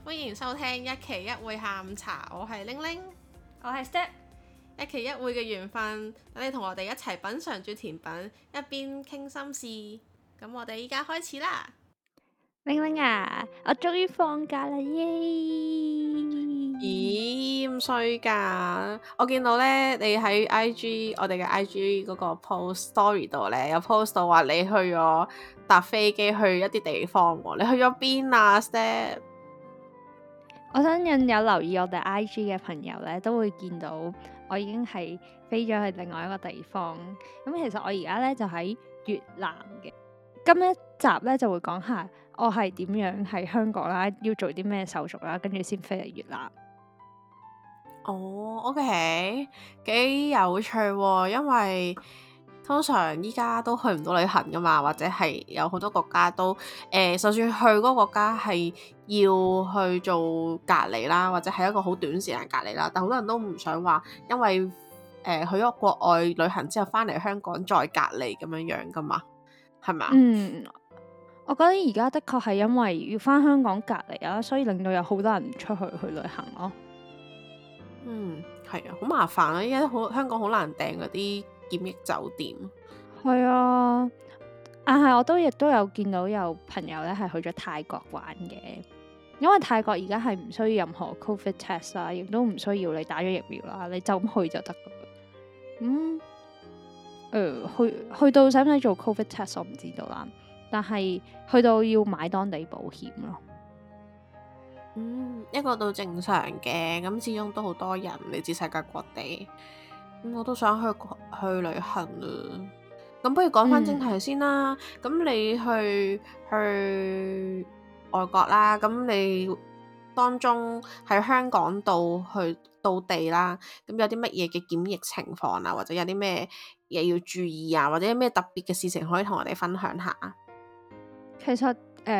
歡迎收聽一期一會下午茶，我係玲玲， 我係 Step， 一期一會嘅緣分，等你同我哋一齊品嚐住甜品，一邊傾心事。咁我哋依家開始啦。 玲玲啊，我終於放假啦耶！ 咦，咁衰噶？我見到咧，你喺 IG 我哋嘅 IG 嗰個 post story 度咧，有 post 到話你去咗搭飛機去一啲地方喎。你去咗邊啊 Step？ 我相信有留意我哋 IG 嘅朋友咧，都會見到我已經係飛咗去另外一個地方。咁其實我而家咧就喺越南嘅。今一集咧就會講下我係點樣喺香港啦，要做啲咩手續啦，跟住先飛嚟越南。 哦，OK，幾有趣喎，因為通常依家都去唔到旅行噶嘛，或者係有好多國家都就算去嗰個國家係要去做隔離啦，或者係一個好短時間隔離啦，但好多人都唔想話，因為去咗國外旅行之後翻嚟香港再隔離咁樣樣噶嘛，係咪啊？ 我覺得而家的確係因為要翻香港隔離啊，所以令到有好多人唔出去旅行咯。 係啊，好麻煩啊！依家香港好難訂嗰啲檢疫酒店。 係啊，但係我都亦都有見到有朋友咧係去咗泰國玩嘅，因為泰國而家係唔需要任何 Covid test 啦，亦都唔需要你打咗疫苗啦，你就咁去就得噶啦。去到使唔使做 Covid test 我唔知道啦，但係去到要買當地保險咯。 一個都正常嘅，咁始終都好多人嚟自世界各地，我都想去旅行啊。咁不如講翻正題先啦。咁你去外國啦，咁你當中喺香港到地啦，咁有啲乜嘢嘅檢疫情況啊，或者有啲咩嘢要注意啊，或者有咩特別嘅事情可以同我哋分享下？ 其實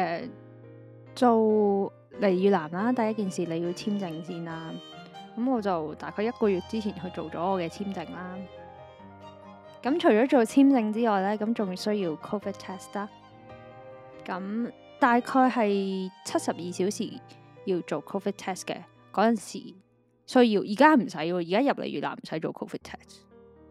做嚟越南啦，第一件事你要簽證先啦。咁我就大概1個月之前去做咗我嘅簽證啦。咁除咗做簽證之外呢，咁仲需要 Covid test 啦。咁大概係72小時要做 Covid test 嘅嗰陣時需要，而家唔使喎，而家入嚟越南唔使做 Covid test。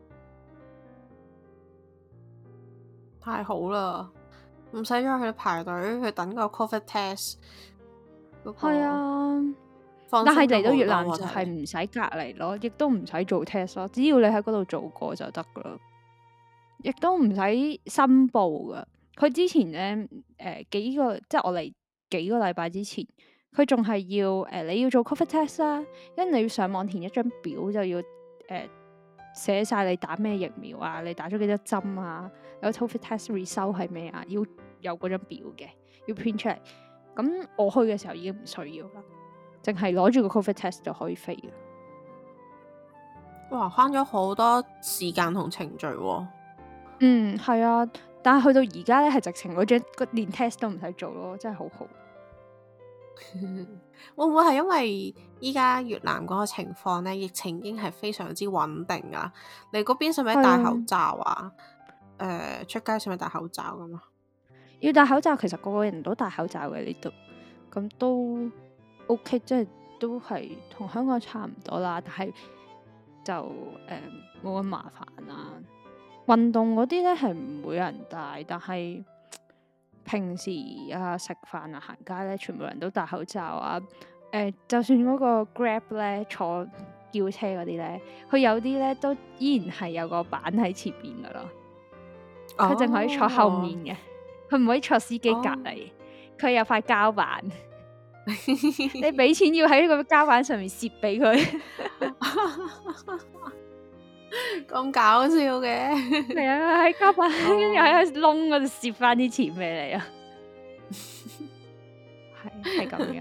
太好啦，唔使再去排隊去等個 Covid test。 係啊， 但但係嚟到越南就係唔使隔離咯，亦都唔使做 test 咯，只要你喺嗰度做過就得噶啦，亦都唔使申報噶。佢之前咧幾個即係我嚟幾個禮拜之前，佢仲係要你要做 Covid test 啦，跟住你要上網填一張表，就要寫晒你打咩疫苗啊，你打咗幾多針啊，有 Covid test result 係咩啊，要有嗰張表嘅，要 print 出嚟。咁我去嘅時候已經唔需要啦，淨係攞住個 Covid test 就可以飛嘅。 哇，慳咗好多時間同程序喎。 係啊，但係去到而家咧，係直情嗰張連 test 都唔使做咯，真係好好。 會唔會係因為依家越南嗰個情況咧，疫情已經係非常之穩定啊？你嗰邊使唔使戴口罩啊？出街使唔使戴口罩噶嘛？ 要戴口罩，其實個個人都戴口罩嘅呢度，咁都 OK，即係都係同香港差唔多啦。但係就冇咁麻煩啦。運動嗰啲咧係唔會有人戴，但係平時啊食飯啊行街咧，全部人都戴口罩啊。就算嗰個 Grab 咧坐叫車嗰啲咧，佢有啲咧都依然係有個板喺前邊噶咯，佢淨可以坐後面嘅。佢唔可以坐司機隔離，佢有塊膠板，你俾錢要喺呢個膠板上面攝俾佢， 咁搞笑嘅。 係啊，喺膠板跟住喺個窿嗰度攝翻啲錢俾你啊，係咁樣。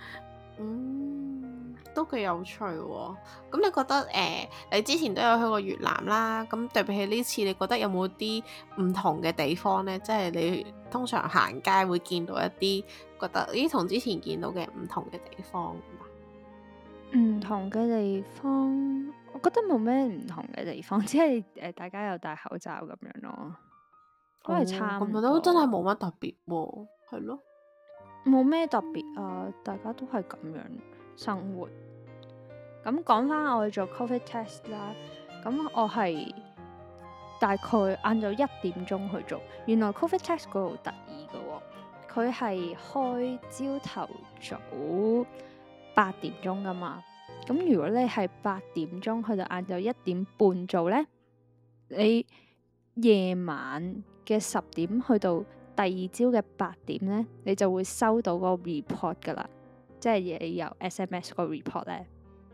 都幾有趣喎。咁你覺得你之前都有去過越南啦，咁對比起呢次，你覺得有冇啲唔同嘅地方呢？即係你通常行街會見到一啲覺得咦同之前見到嘅唔同嘅地方。 唔同嘅地方，我覺得冇咩唔同嘅地方，只係大家有戴口罩咁樣咯，都係差唔多。 咁都真係冇乜特別喎，係咯。 冇咩特別啊，大家都係咁樣生活。咁講翻我去做 Covid test 啦，咁我係大概晏晝1點鐘去做。原來 Covid test 嗰度得意嘅喎，佢係開朝頭早8點鐘噶嘛。咁如果你係8點鐘去到晏晝1點半做呢，你夜晚嘅10點去到第二朝嘅8點呢，你就會收到個 report 噶啦，即係你有 SMS 個 report 呢。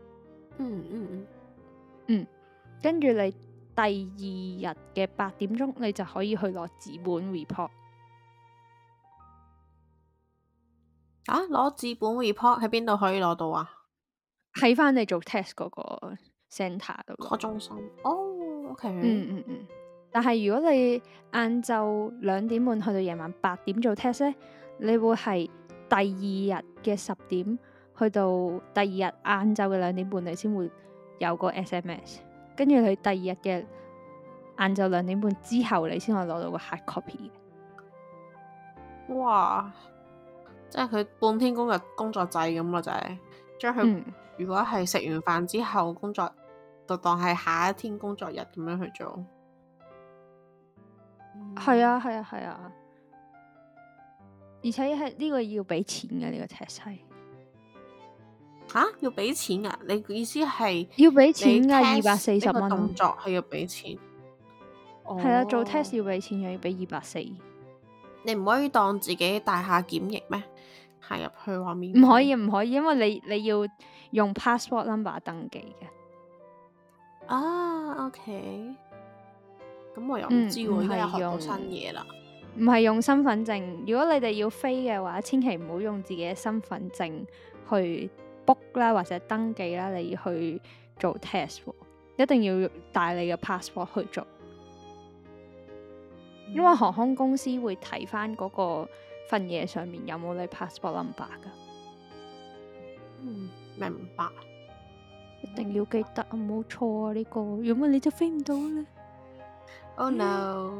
跟住你第二日嘅8點鐘，你就可以去攞紙本 report。 攞紙本 report 喺邊度可以攞到啊？ 喺翻你做 test 嗰個 centre 度個中心。OK。 但係如果你晏晝2點半去到夜晚8點做 test 呢，你會係第二日嘅10點去到第二日晏晝嘅2點半，你先會有個 SMS。跟住你第二日嘅晏晝2點半之後，你先可以攞到個 hard copy。 哇！即係佢半天工作制咁咯，就係將佢如果係食完飯之後工作，就當係下一天工作日咁樣去做。 係啊，而且係呢個要俾錢嘅，呢個 test 係。 要俾錢啊？你意思係要俾錢噶，240蚊。 動作係要俾錢。 係啊，做 test 要俾錢嘅，要俾240。 你唔可以當自己大廈檢疫咩？行入去話面唔可以，因為你要用 passport number 登記嘅。 OK。咁我又唔知喎，而家又學到新嘢啦。 唔係用身份證，如果你哋要飛嘅話，千祈唔好用自己嘅身份證去 book 啦，或者登記啦，你要去做 test，一定要帶你嘅 passport 去做。因為航空公司會睇翻嗰個份嘢上面有冇你 passport number 噶。 明白。 一定要記得，唔好錯啊呢個，如果唔係你就飛唔到啦。 Oh no！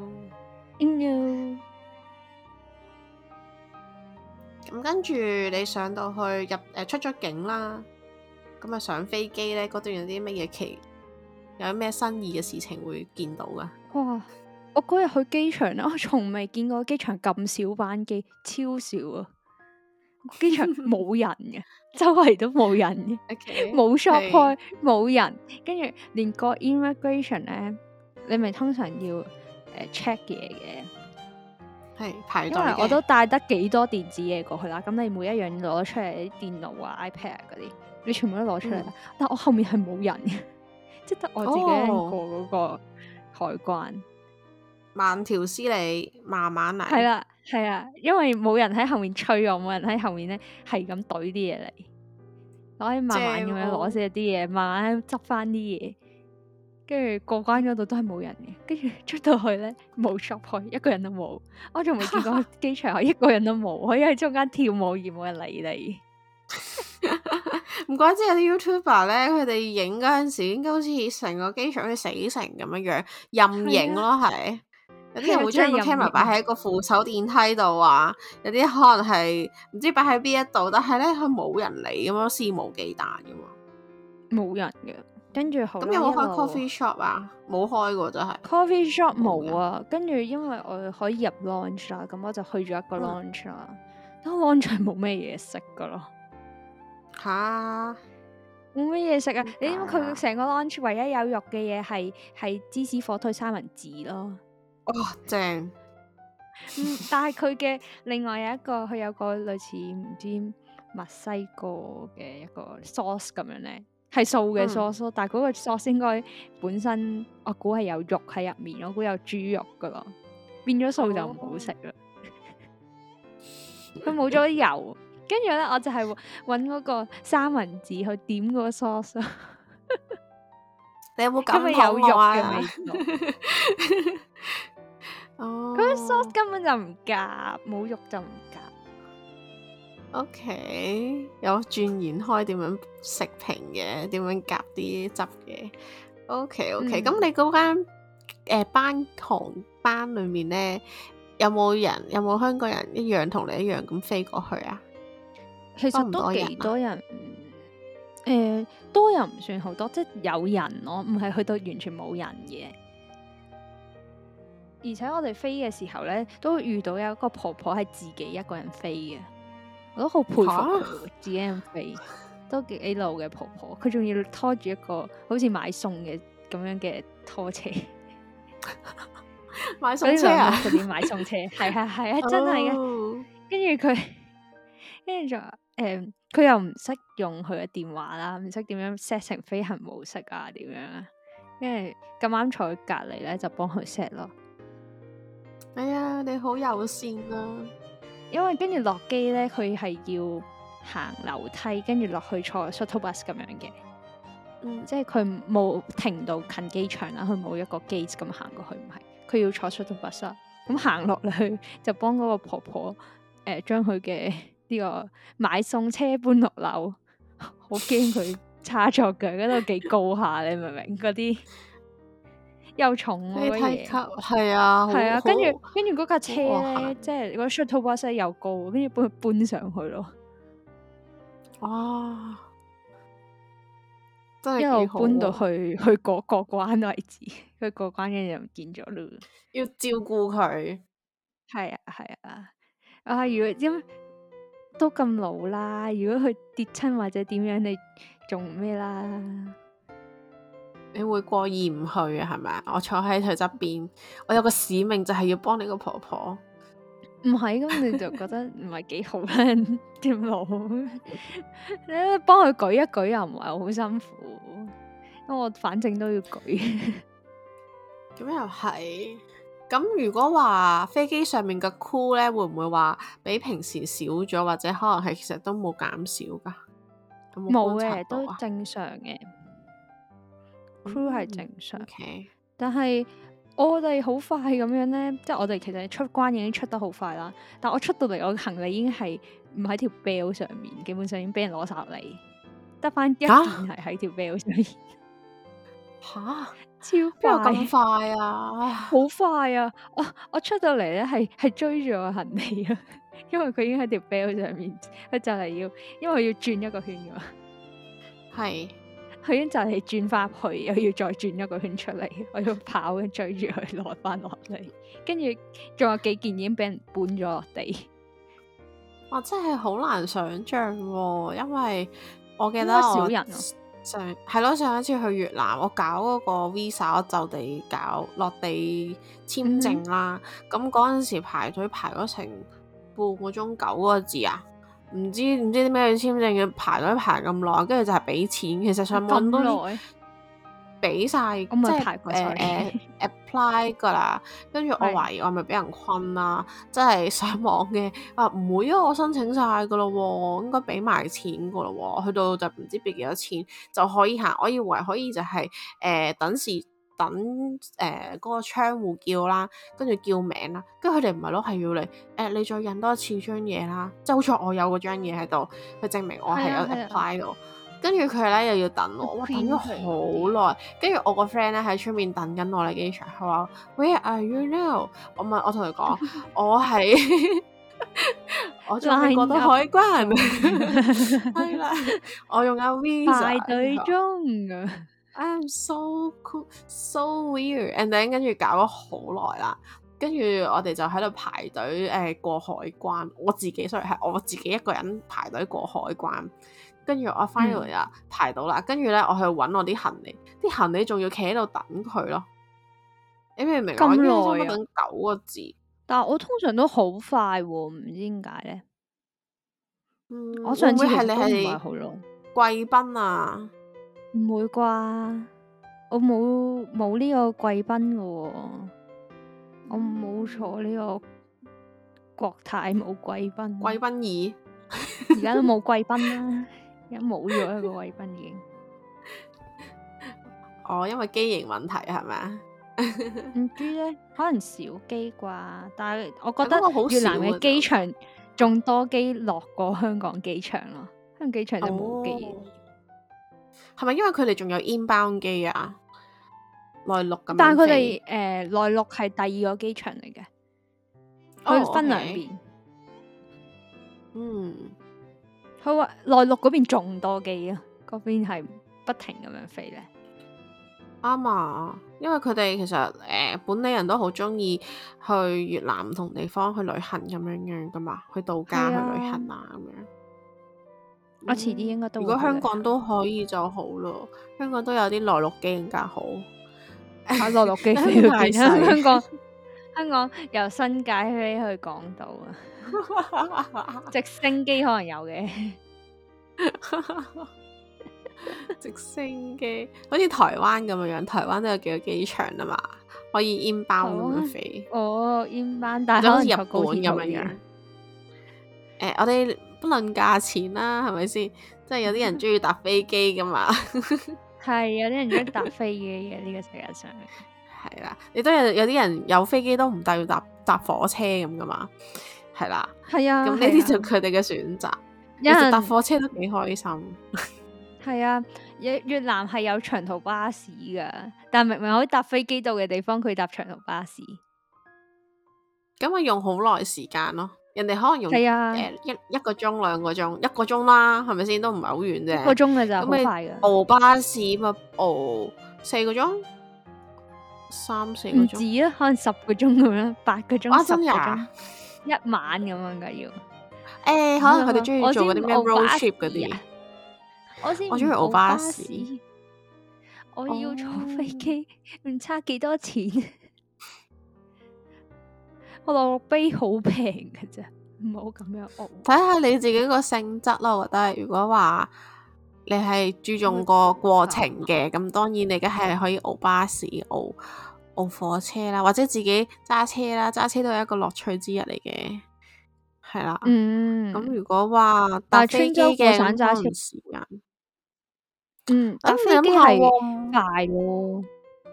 咁跟住你上到去出咗境啦，咁啊上飛機呢，嗰段有啲乜嘢有啲咩新意嘅事情會見到噶？ 哇！我嗰日去機場咧，我從未見過機場咁少班機，超少啊！機場冇人嘅，周圍都冇人嘅，冇 shop 開，冇人，跟住連個 immigration 咧，你咪通常要check 嘢嘅， 係排隊嘅。 因為我都帶得幾多電子嘢過去啦，咁你每一樣攞出嚟，啲電腦啊、iPad 嗰啲，你全部都攞出嚟。但我後面係冇人嘅，即係得我自己一個嗰個海關。 慢條斯理，慢慢嚟。 係啦，因為冇人喺後面催我，冇人喺後面咧係咁懟啲嘢嚟，我可以慢慢咁樣攞晒啲嘢，慢慢執翻啲嘢，跟住過關嗰度都係冇人嘅，跟住出到去咧冇 shop 開，一個人都冇，我仲未見過機場一個人都冇，可以喺中間跳舞而冇人理你。 唔怪之有啲 YouTuber 咧，佢哋影嗰陣時，應該好似成個機場好似死城咁樣任影咯，係。有啲人會將個 camera 擺喺個扶手電梯度啊，有啲可能係唔知擺喺邊一度，但係咧佢冇人理咁樣，肆無忌憚噶嘛， 冇人嘅。跟住好， 咁有冇開 coffee shop 啊？冇開過真係 coffee shop 冇啊。跟住因為我可以入 launch 啦，咁我就去咗一個 launch 啦。但 launch 係冇咩嘢食噶咯，冇咩嘢食啊！你知唔知佢成個 launch 唯一有肉嘅嘢係芝士火腿三文治咯。 正。 但係佢嘅另外有一個，佢有個類似唔知墨西哥嘅一個 sauce 咁樣咧，係素嘅 sauce，但係嗰個 sauce 應該本身我估係有肉喺入面，我估有豬肉噶咯，變咗素就唔好食啦。佢冇咗油，跟住咧我就係搵嗰個三文治去點嗰個 sauce。 你有冇咁咪有肉嘅味道？佢啲 sauce 根本就唔夾，冇肉就唔夾。 OK，有鑽研開點樣食評嘅，點樣夾啲汁嘅。OK，咁你嗰間航班裏面咧， 有冇香港人一樣同你一樣咁飛過去啊？ 其實都幾多人，多又唔算好多，即係有人咯，唔係去到完全冇人嘅。而且我哋飛嘅時候咧，都遇到有一個婆婆係自己一個人飛嘅，我都好佩服佢，自己人飛都幾老嘅婆婆，佢仲要拖住一個好似買餸嘅咁樣嘅拖車， 買餸車啊， 嗰啲買餸車，係啊，真係嘅。跟住就佢又唔識用佢嘅電話啦，唔識點樣 set 成飛行模式啊，點樣啊？跟住咁啱坐佢隔離咧，就幫佢 set 咯。 哎呀，你好友善啊！ 因為跟住落機咧，佢係要行樓梯，跟住落去坐 shuttle bus 咁樣嘅。即係佢冇停到近機場啦，佢冇一個 gate 咁行過去，唔係，佢要坐 shuttle bus 啦。咁行落去就幫嗰個婆婆將佢嘅呢個買餸車搬落樓，好驚佢差錯腳，嗰度幾高下，你明唔明？嗰啲又重嗰嘢， 係啊， 跟住嗰架車咧，即係嗰個 shuttle bus 又高，跟住幫佢搬上去咯。 哇！真係一路搬到去過關為止，佢過關嘅就唔見咗咯。 要照顧佢， 係啊！如果因都咁老啦，如果佢跌親或者點樣，你仲咩啦？ 你會過意唔去啊？係咪啊？我坐喺佢側邊，我有個使命就係要幫你個婆婆。 唔係咁，你就覺得唔係幾好啦，點老？你幫佢舉一舉又唔係好辛苦，因為我反正都要舉。 咁又係。咁如果話飛機上面嘅 crew 咧，會唔會話比平時少咗，或者可能係其實都冇減少噶？ 冇嘅，都正常嘅。crew 係正常， okay。 但係我哋好快咁樣咧，即係我哋其實出關已經出得好快啦。但我出到嚟，我行李已經係唔喺條 belt 上面，基本上已經俾人攞晒落嚟，得翻一件係喺條 belt 上面。 吓？ 超快， 咁快啊！ 好快啊！我出到嚟咧，係追住我行李啊，因為佢已經喺條 belt 上面，佢就嚟要，因為要轉一個圈噶嘛。係。佢已經就係轉翻去，又要再轉一個圈出嚟，我要跑追住佢攞翻落嚟，跟住仲有幾件已經俾人搬咗落地。 哇！真係好難想像喎，因為我記得少人上一次去越南，我搞嗰個 visa，我就地搞落地簽證啦。咁嗰陣時排隊排咗成半個鐘9個字啊！唔知啲咩簽證要排隊排咁耐，跟住就係俾錢。其實上網都俾晒，即係apply 噶啦。跟住我懷疑我係咪俾人困啦？即係上網嘅唔會啊，我申請晒噶咯，應該俾埋錢噶咯。去到就唔知俾幾多錢就可以行。我以為可以就係等嗰個窗戶叫啦，跟住叫名啦，跟住佢哋唔係咯，係要你你再印多一次張嘢啦，即係好似我有嗰張嘢喺度，去證明我係有 apply 到，跟住佢咧又要等我，哇等咗好耐，跟住我個 friend 咧喺出面等緊我嚟機場，佢話 Where are you now？ 我同佢講我係我仲未過到海關，係啦，我用緊 visa 排隊中㗎。 I'm so cool, so weird, and then 跟住搞咗好耐啦，跟住我哋就喺度排隊過海關，我自己係我自己一個人排隊過海關，跟住我翻嚟啊排到啦，跟住咧我去揾我啲行李，啲行李仲要企喺度等佢咯，你明唔明？ 咁耐啊？等9個字， 但係我通常都好快喎，唔知點解咧。我上次係你係貴賓啊？ 唔會啩？我冇呢個貴賓嘅喎，我冇坐呢個國泰冇貴賓。 貴賓2 而家都冇貴賓啦，而家冇咗一個貴賓已經。 因為機型問題係咪啊？ 唔知咧，可能少機啩。但係我覺得越南嘅機場仲多機落過香港機場咯，香港機場就冇機。 係咪因為佢哋仲有 inbound 機啊？內陸咁， 但係佢哋內陸係第2個機場嚟嘅。 哦佢分兩 OK 邊。 嗯， 佢話內陸嗰邊仲多機啊，嗰邊係不停咁樣飛咧。 啱啊，因為佢哋其實本地人都好中意去越南唔同地方去旅行咁樣噶嘛，去度假去係啊旅行啊咁樣。 我遲啲應該都如果香會去旅行。 港都可以就好咯，香港都有啲內陸機更加好。 啊，內陸機飛去香港太邊啊？ 細香港由新界飛去港島啊，直升機可能有嘅。 直升機好似台灣咁樣，台灣都有幾個機場啊嘛，可以 inbound 咁樣飛， 哦，inbound，但係就好似日可能坐高本咁鐵好遠。 樣樣。我哋不論價錢啦，係咪先？即係有啲人中意搭飛機噶嘛， 係有啲人中意搭飛機嘅呢個世界上。 係啦，你都有啲人有飛機都唔帶要搭火車咁噶嘛，係啦。 係啊， 咁呢啲就佢哋嘅選擇。其有人實搭火車都幾開心。 係啊，越南係有長途巴士噶，但明明可以搭飛機到嘅地方，佢搭長途巴士。 咁咪用好耐時間咯，人哋可能用係啊， 一個鐘兩個鐘，一個鐘啦，係咪先？都唔係好遠啫。 一個鐘嘅咋，好咁你快噶。 熬巴士咪熬4個鐘，3、4個唔鐘。 止啊，可能10個鐘咁樣，8個鐘、 啊， 10個真呀鐘，一晚咁樣噶要。 可能佢哋中意我做嗰啲咩先熬 road 巴士 trip 嗰啲啊。我先我中意熬唔熬巴巴士。 我要坐飛哦機，唔差幾多錢。我落飛好平㗎咋，唔好咁樣熬。 睇下你自己個性質咯，我覺得如果話你係注重個過程嘅，咁當然你梗係可以熬巴士、熬火車啦，或者自己揸車啦，揸車都係一個樂趣之一嚟嘅，係啦。咁如果話搭但係飛機穿州過嘅，咁省揸車， 可能時間， 搭飛機你諗下係喎， 快咯。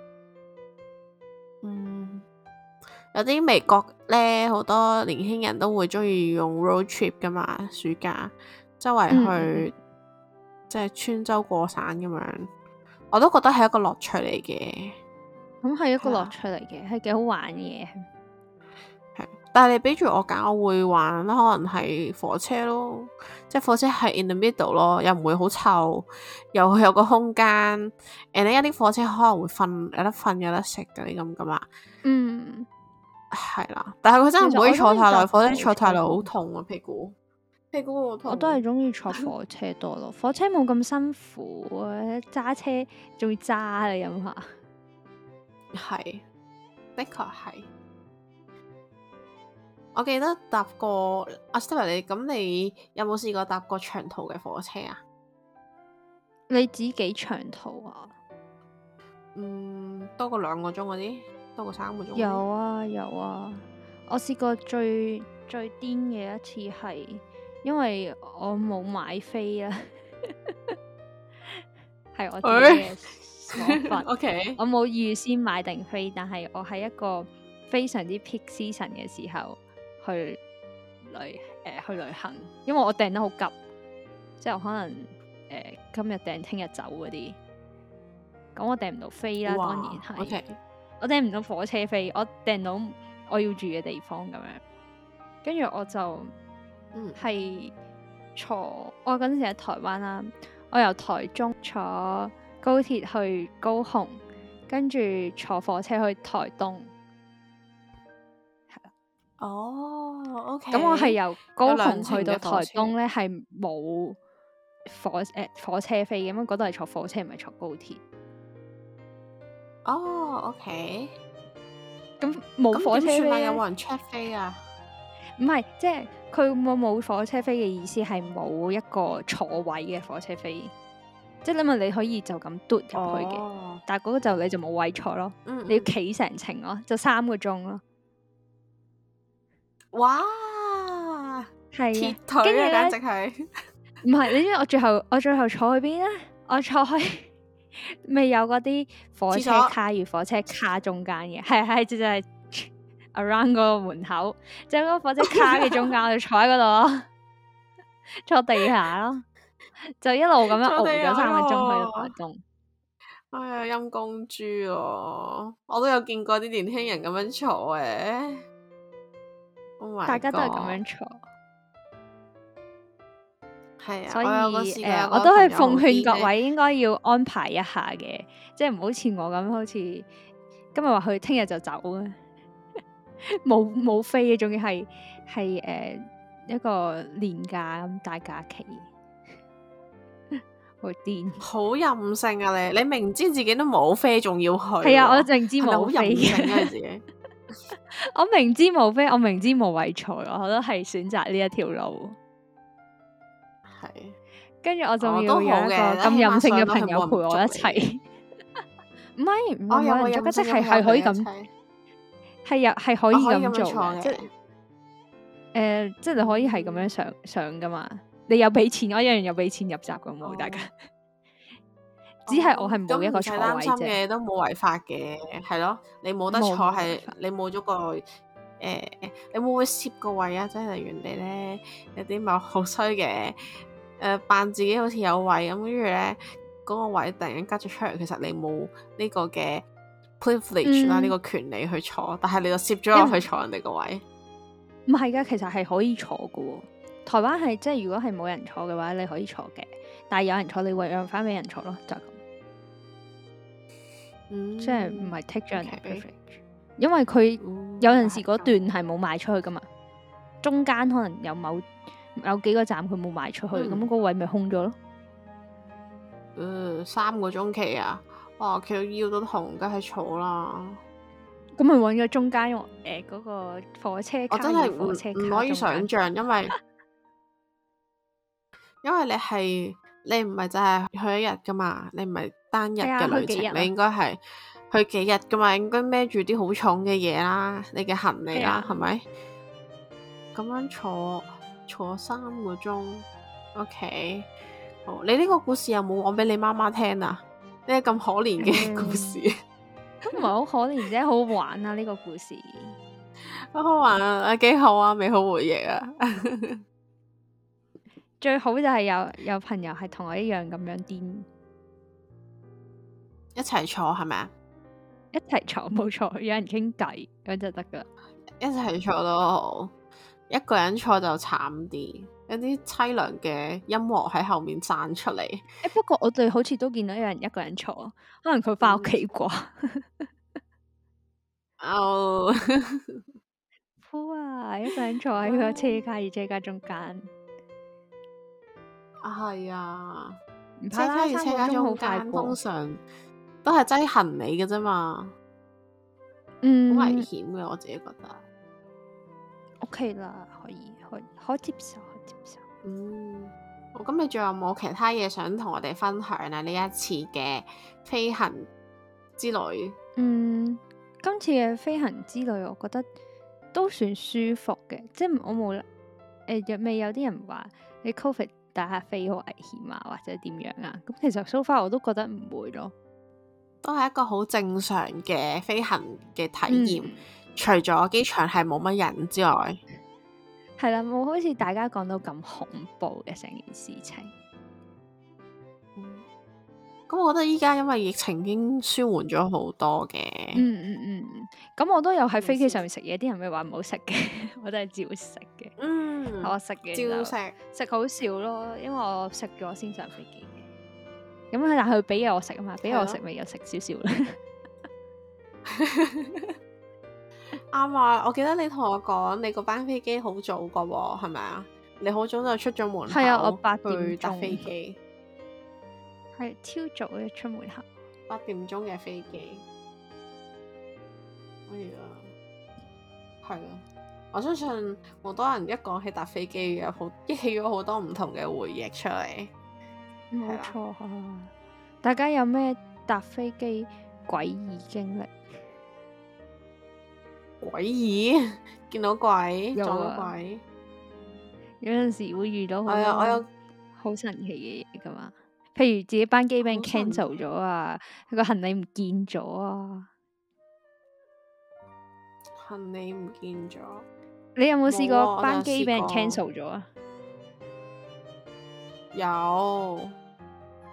有啲美國咧，好多年輕人都會中意用 road trip 噶嘛，暑假周圍去，即係穿州過省咁樣，我都覺得係一個樂趣嚟嘅。 咁係一個係啊樂趣嚟嘅，係幾好玩嘅嘢。 係，但係你俾住我揀，我會玩可能係火車咯，即係火車係 in the middle 咯，又唔會好臭，又有個空間。你一啲火車可能會瞓，有得瞓有得食嗰啲咁噶嘛。係啦，但係佢真係唔可以坐太耐，火車坐太耐好痛啊，屁股好痛。 我都係中意坐火車多咯，火車冇咁辛苦啊，揸車仲要揸你諗下。 係，的確係。我記得搭過阿 Stella，你有冇試過搭過長途嘅火車啊？ 你指幾長途啊？ 多過2個鐘嗰啲，多過3個鐘。 有啊有啊，我試過最癲嘅一次係，因為我冇買飛啊，係我自己嘅錯份。 OK， 我冇預先買定飛，但係我喺一個非常之 peak season 嘅時候去旅行，因為我訂得好急，即係我可能今日訂聽日走嗰啲，咁我訂唔到飛啦，當然係。 OK， 我訂唔到火車飛，我訂到我要住嘅地方咁樣，跟住我就係我嗰陣時喺台灣啦，我由台中坐高鐵去高雄，跟住坐火車去台東。 哦，OK。 咁我係由高雄兩程去到嘅火車台東咧，係冇火車飛嘅，咁嗰度係坐火車，唔係坐高鐵。 哦，OK。 咁冇火車飛咁點算啊？有咧冇人 check 飛啊？ 唔係，即係佢冇火車飛嘅意思係冇一個坐位嘅火車飛，即係因為你可以就咁嘟入去嘅，但係嗰個就你就冇位坐咯，你要企成程咯，就3個鐘咯。 哇！ 係鐵啊，跟住腿啊，簡咧直係。 唔係，你知我最後坐去邊咧？我坐去未有嗰啲火車卡與火車卡中間嘅，係就係 around 嗰個門口，就嗰個火車卡嘅中間，我就坐喺嗰度咯，坐地下咯，就一路咁樣熬咗3個鐘去到台東。 哎呀，陰公豬喎！我都有見過啲年輕人咁樣坐嘅。 Oh my 大家都係咁 God 樣坐， 係啊， 所以我有個試過有個我都係朋友好奉勸各癲咧， 位應該要安排一下嘅，即係唔好似我咁，好似今日話去，聽日就走啊，冇飛嘅，仲要係一個年假咁大假期，好癲。 好任性啊你！你明知自己都冇飛，仲要去係啊， 喎， 我明知係咪好冇飛任性啊你嘅， 自己？ 我明知冇飛，我明知冇位坐，我都係選擇呢一條路。 係， 跟住我仲都好要有一個嘅， 咁起碼任性嘅上到去冇朋友陪我一人捉你嘅。 齊，唔係我有個冇人捉㗎，即任性嘅朋友係可以咁， 陪你一齊， 係可以我可以咁樣咁做坐嘅，即係嘅。 即係你可以係咁樣上噶嘛。你有俾錢，我一樣有俾錢入閘咁喎，大家。只係我係冇一個坐咁唔使擔位啫， 心嘅，都冇違法嘅，係咯。你冇得坐冇係違法你冇咗個你會唔會攝個位啊？即係例如人哋咧有啲咪好衰嘅扮自己好似有位咁，跟住咧嗰個位突然間吉咗出嚟，其實你冇呢個嘅 privilege 啦，呢個權利去坐，但係你就攝咗落去坐人哋個位。 唔係噶，其實係可以坐噶喎。台灣係即係如果係冇人坐嘅話，你可以坐嘅，但係有人坐，你會讓翻俾人坐咯，就係咁。即係唔係 take 咗人哋 OK privilege，因為佢有陣時係咁嗰段係冇賣出去噶嘛，中間可能有幾個站佢冇賣出去，咁個位咪空咗咯。 3個鐘期啊！哇，企到腰都痛，梗係坐啦。 咁咪揾個中間嗰個火車卡， 我真係火車卡唔可以中間想像，因為你唔係就係去一日噶嘛，你唔係單日係啊嘅旅程， 去幾日啊你應該係去幾日噶嘛，應該孭住啲好重嘅嘢啦，你嘅行李啦， 係啊係咪？咁樣坐3個鐘，OK。好，你呢個故事有冇講俾你媽媽聽啊？呢個咁可憐嘅故事， 都唔係好可憐啫，好好玩啊！呢個故事好好玩啊，幾好啊，美好回憶啊！ 最好就係有朋友係同我一樣咁樣癲， 一齊坐係咪啊？ 一齊坐冇錯，有人傾偈咁就得噶啦。 一齊坐都好，一個人坐就慘啲，有啲凄涼嘅音樂喺後面散出嚟。 不過我哋好似都見到有人一個人坐，可能佢翻屋企啩。 哦， 好啊，一個人坐喺佢個車卡與車卡中間， 係啊， 唔車卡與車卡好中快間通過。 常都係擠行李嘅啫嘛，好危險嘅，我自己覺得。 OK 啦，可接受，可接受。 好，咁你仲有冇其他嘢想同我哋分享啊？呢一次嘅飛行之旅， 今次嘅飛行之旅，我覺得都算舒服嘅，即係我冇未有啲人話你 Covid 打下飛好危險啊，或者點樣啊？咁其實 so far 我都覺得唔會咯， 都係一個好正常嘅飛行嘅體驗。除咗機場係冇乜人之外， 係啦，冇好似大家講到咁恐怖嘅成件事情。 咁我覺得依家因為疫情已經舒緩咗好多嘅。 咁我都有喺飛機上面食嘢，啲人咪話唔好食嘅，我都係照食嘅。我食嘅照食好少咯，因為我食咗先上飛機嘅。咁但係佢俾嘢我食啊嘛，俾我食咪又食少少啦。 啱啊！我記得你同我講，你嗰班飛機好早噶喎，係咪啊？你好早就出咗門口， 係啊，我8點去搭鐘飛機， 係超早嘅出門口。 8點鐘嘅飛機，係啊，我相信好多人一講起搭飛機嘅，激起咗好多唔同嘅回憶出嚟。 冇錯啊！大家有咩搭飛機詭異經歷？ 詭異，見到鬼， 有啊撞到鬼， 有陣時會遇到好係啊，我有多好神奇嘅嘢噶嘛。譬如自己班機俾人好神 cancel 咗啊，佢個行李唔見咗啊。 行李唔見咗。 你有冇試冇啊過班機俾人我就試過 cancel 咗啊？ 有，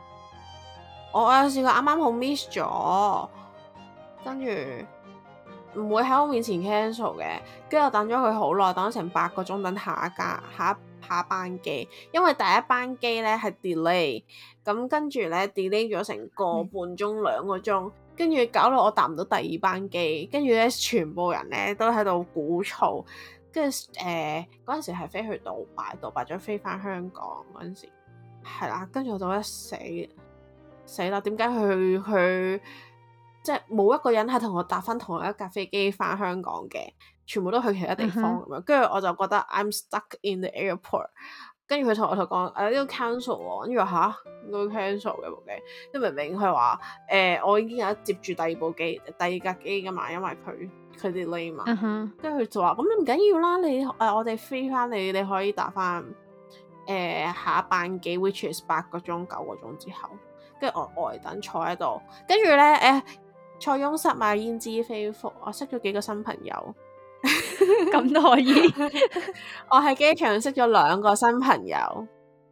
我有試過啱啱好 miss 咗，跟住唔會喺我面前 cancel 嘅，跟住我等咗佢好耐，等咗成8個鐘等下一班機，因為第一班機咧係 delay，咁跟住咧 delay 咗成個半鐘2個鐘，跟住搞到我搭唔到第二班機，跟住咧全部人咧都喺度鼓噪，跟住嗰陣時係飛去杜拜再飛翻香港嗰陣時，係啦，跟住我就一死啦！點解佢即係冇一個人係同我搭翻同一架飛機翻香港嘅，全部都去其他地方咁樣。跟住我就覺得 I'm stuck in the airport。跟住佢同我講呢個 cancel 喎，跟住話應該 cancel 嘅部機，即明明佢話我已經有接住第二架機噶嘛，因為佢 delay 嘛。跟住佢就話咁你唔緊要啦，你我哋飛翻你可以搭翻下一班機 which is 8個鐘9個鐘之後，跟住我呆等坐喺度，跟住咧塞翁失馬焉知非福，我識咗幾個新朋友， 咁都可以。 我喺機場識咗2個新朋友。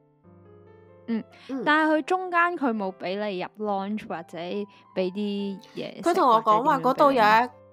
但係佢中間佢冇俾你入 launch 或者俾啲嘢。 佢同我講話嗰度有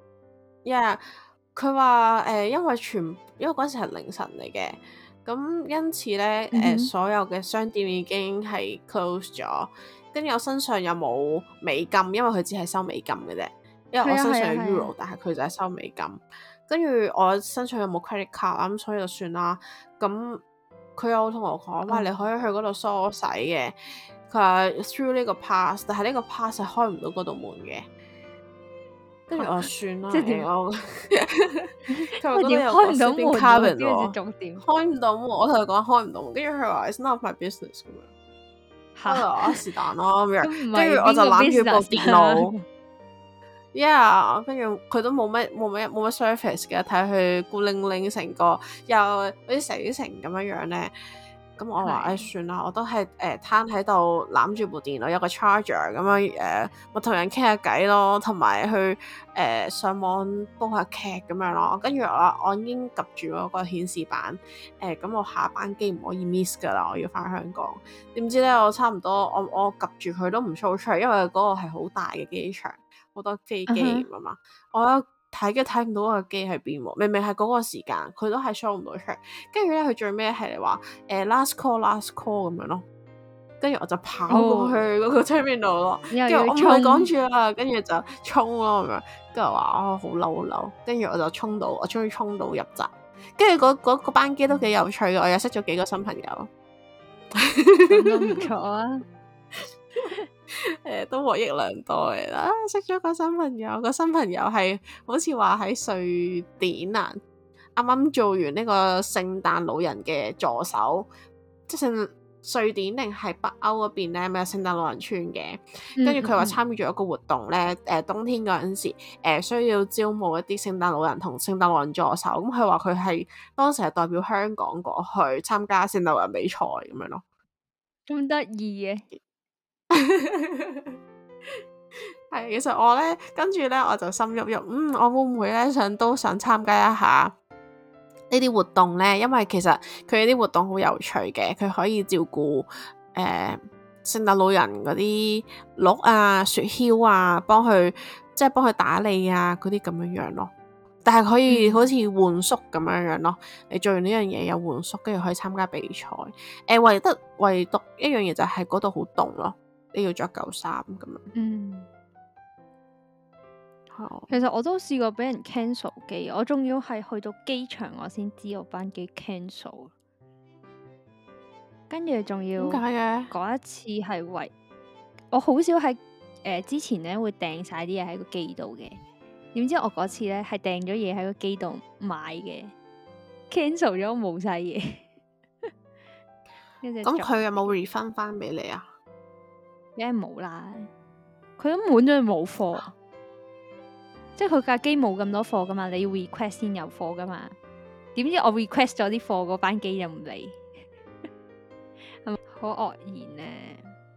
佢話因為嗰時係凌晨嚟嘅，咁因此咧所有嘅商店已經係 close 咗。跟住我身上又冇美金，因為佢只係收美金嘅啫。因為我身上有 euro，但係佢就係收美金。跟住我身上又冇 credit card，咁所以就算啦。咁佢有同我講話，你可以去嗰度梳洗嘅。佢話 through 呢個 pass， 但係呢個 pass 係開唔到嗰度門嘅。跟住我算啦， 即係點？ 佢話嗰度有個 shipping cabin 喎，開唔到門。我同佢講開唔到門，跟住佢話 it's not my business 咁樣。是但咯咁樣，跟住我就攬住部電腦跟住佢都冇乜 service 嘅，睇佢孤零零成個又好似死城咁樣咧。咁我話算啦，我都係攤喺度攬住部電腦，有個 charger 咁樣我同人傾下偈咯，同埋去上網煲下劇咁樣咯。跟住我已經及住嗰個顯示板咁我下班機唔可以 miss 噶啦，我要翻香港。點知咧我差唔多我及住佢都唔 show 出嚟，因為嗰個係好大嘅機場，好多飛機咁嘛。我睇唔到個機喺邊喎，明明係嗰個時間，佢都係 show 唔到出嚟。跟住咧，佢最尾係嚟話last call 咁樣咯。跟住我就跑過去嗰個 terminal 咯，跟住我唔係趕住啦，跟住就衝咯咁樣。跟住話好嬲，跟住我就我終於衝到入閘。跟住嗰班機都幾有趣嘅，我又識咗幾個新朋友， 都唔錯啊。 都獲益良多嘅啦，識咗個新朋友，個新朋友係好似話喺瑞典啊，啱啱做完呢個聖誕老人嘅助手，即係瑞典定係北歐嗰邊咧，咪有聖誕老人村嘅。跟住佢話參與咗一個活動咧，冬天嗰陣時需要招募一啲聖誕老人同聖誕老人助手，咁佢話佢係當時係代表香港過去參加聖誕老人比賽咁樣咯， 咁得意嘅。 係，其實我咧跟住咧我就心郁郁，我會唔會咧都想參加一下呢啲活動咧？因為其實佢啲活動好有趣嘅，佢可以照顧聖誕老人嗰啲鹿啊、雪橇啊，幫佢打理啊嗰啲咁樣咯。但係可以好似換宿咁樣咯，你做完呢樣嘢有換宿，跟住可以參加比賽。唯獨一樣嘢就係嗰度好凍咯。你要着舊衫咁樣。 其實我都試過俾人 cancel 機，我仲要係去到機場我先知我班機 cancel，跟住仲要點解嘅？ 嗰一次係我好少喺之前咧會訂晒啲嘢喺個機度嘅，點知我嗰次咧係訂咗嘢喺個機度買嘅，cancel 咗冇晒嘢。 咁佢有冇 refund 翻俾你啊？ 梗係冇啦，佢都滿咗冇貨，即係佢架機冇咁多貨噶嘛，你要 request 先有貨噶嘛。點知我 request 咗啲貨，嗰班機就唔嚟，係咪好愕然咧？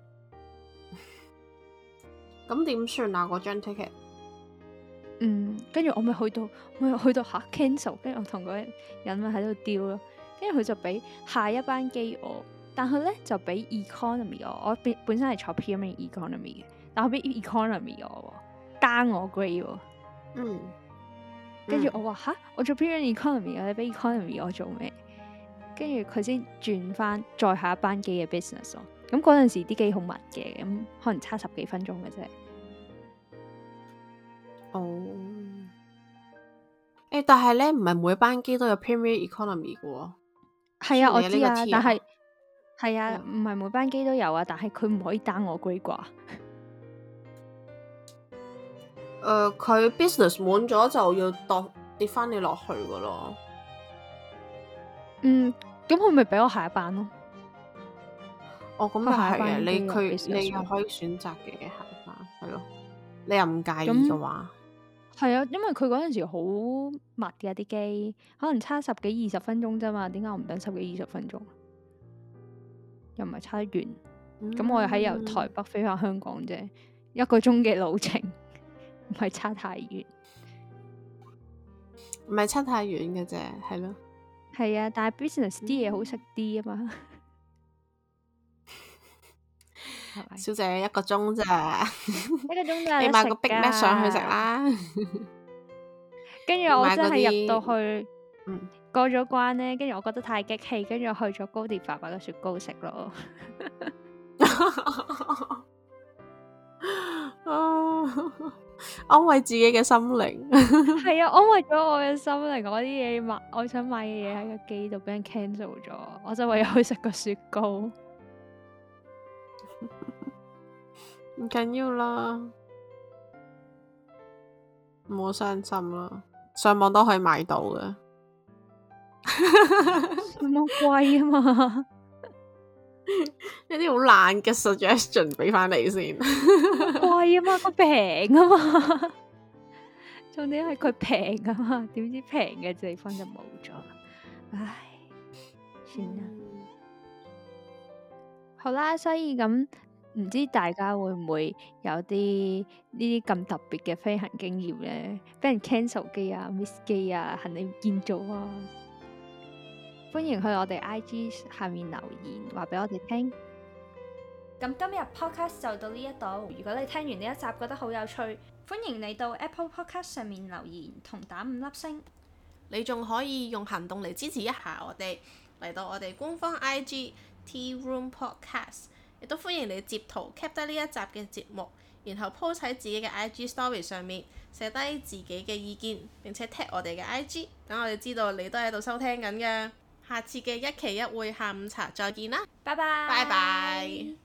咁點算啊？嗰張 ticket？ 跟住我咪去到下 cancel，跟住我同嗰人咪喺度丟咯，跟住佢就俾下一班機我。但佢咧就俾 economy 我本身係坐 premium economy 嘅，但佢俾 economy 我 down 我 grade 喎。 跟住我話吓，我做 premium economy 啊，你俾 economy 我做咩？跟住佢先轉翻再下一班機嘅 business 咯。咁嗰陣時啲機好密嘅，咁可能差10幾分鐘嘅啫。 哦，但係咧唔係每班機都有 Premier Economy 嘅喎。 係啊，我知啊，但係係啊，唔係每班機都有啊，但係佢唔可以 down 我 grade 啩。 佢 business 滿咗就要跌翻你落去噶咯。 咁佢咪俾我下一班咯？ 哦，咁又係嘅，你又可以 business 選擇嘅下一班，係咯。你又唔介意嘅話， 係啊，因為佢嗰陣時好密嘅啲機，可能差10幾20分鐘啫嘛，點解我唔等10幾20分鐘？又唔係差得遠，咁我又喺由台北飛翻香港啫，1個鐘嘅路程，唔係差太遠， 唔係差太遠嘅啫，係咯。 係啊，但係 business 啲嘢好食啲啊嘛。 小姐1個鐘咋 ？1個鐘咋？ 你買個 Big Mac 上去食啦。 跟住我真係入到去，過咗關咧，跟住我覺得太激氣，跟住我去咗高迪爸爸嘅雪糕食咯。 安慰自己嘅心靈。 係啊，安慰咗我嘅心靈。我啲嘢我想買嘅嘢喺個機度俾人 cancel 咗，我就唯有去食個雪糕。 唔緊要啦，唔好傷心啦，上網都可以買到嘅。 上網貴啊嘛， 一啲好爛嘅 suggestion 俾翻你先。 貴啊嘛，佢平啊嘛，重點係佢平啊嘛，點知平嘅地方就冇咗，唉，算啦。好啦，所以咁。唔知大家會唔會有啲呢啲咁特別嘅飛行經驗呢？俾人 cancel 機啊、miss 機啊、行李唔見咗啊！歡迎去我哋 IG 下面留言，話俾我哋聽。咁今日 podcast 就到呢一度。如果你聽完呢一集覺得好有趣，歡迎你到 Apple Podcast 上面留言同打5粒星。 你仲可以用行動嚟支持一下我哋，嚟到我哋官方 IG Tea Room Podcast。亦都歡迎你截圖 cap 低呢一集嘅節目，然後 post 喺自己嘅 IG Story 上面，寫低自己嘅意見，並且 tag 我哋嘅 IG，等我哋知道你都喺度收聽緊嘅。下次嘅一期一會下午茶再見啦， 拜拜。 拜拜。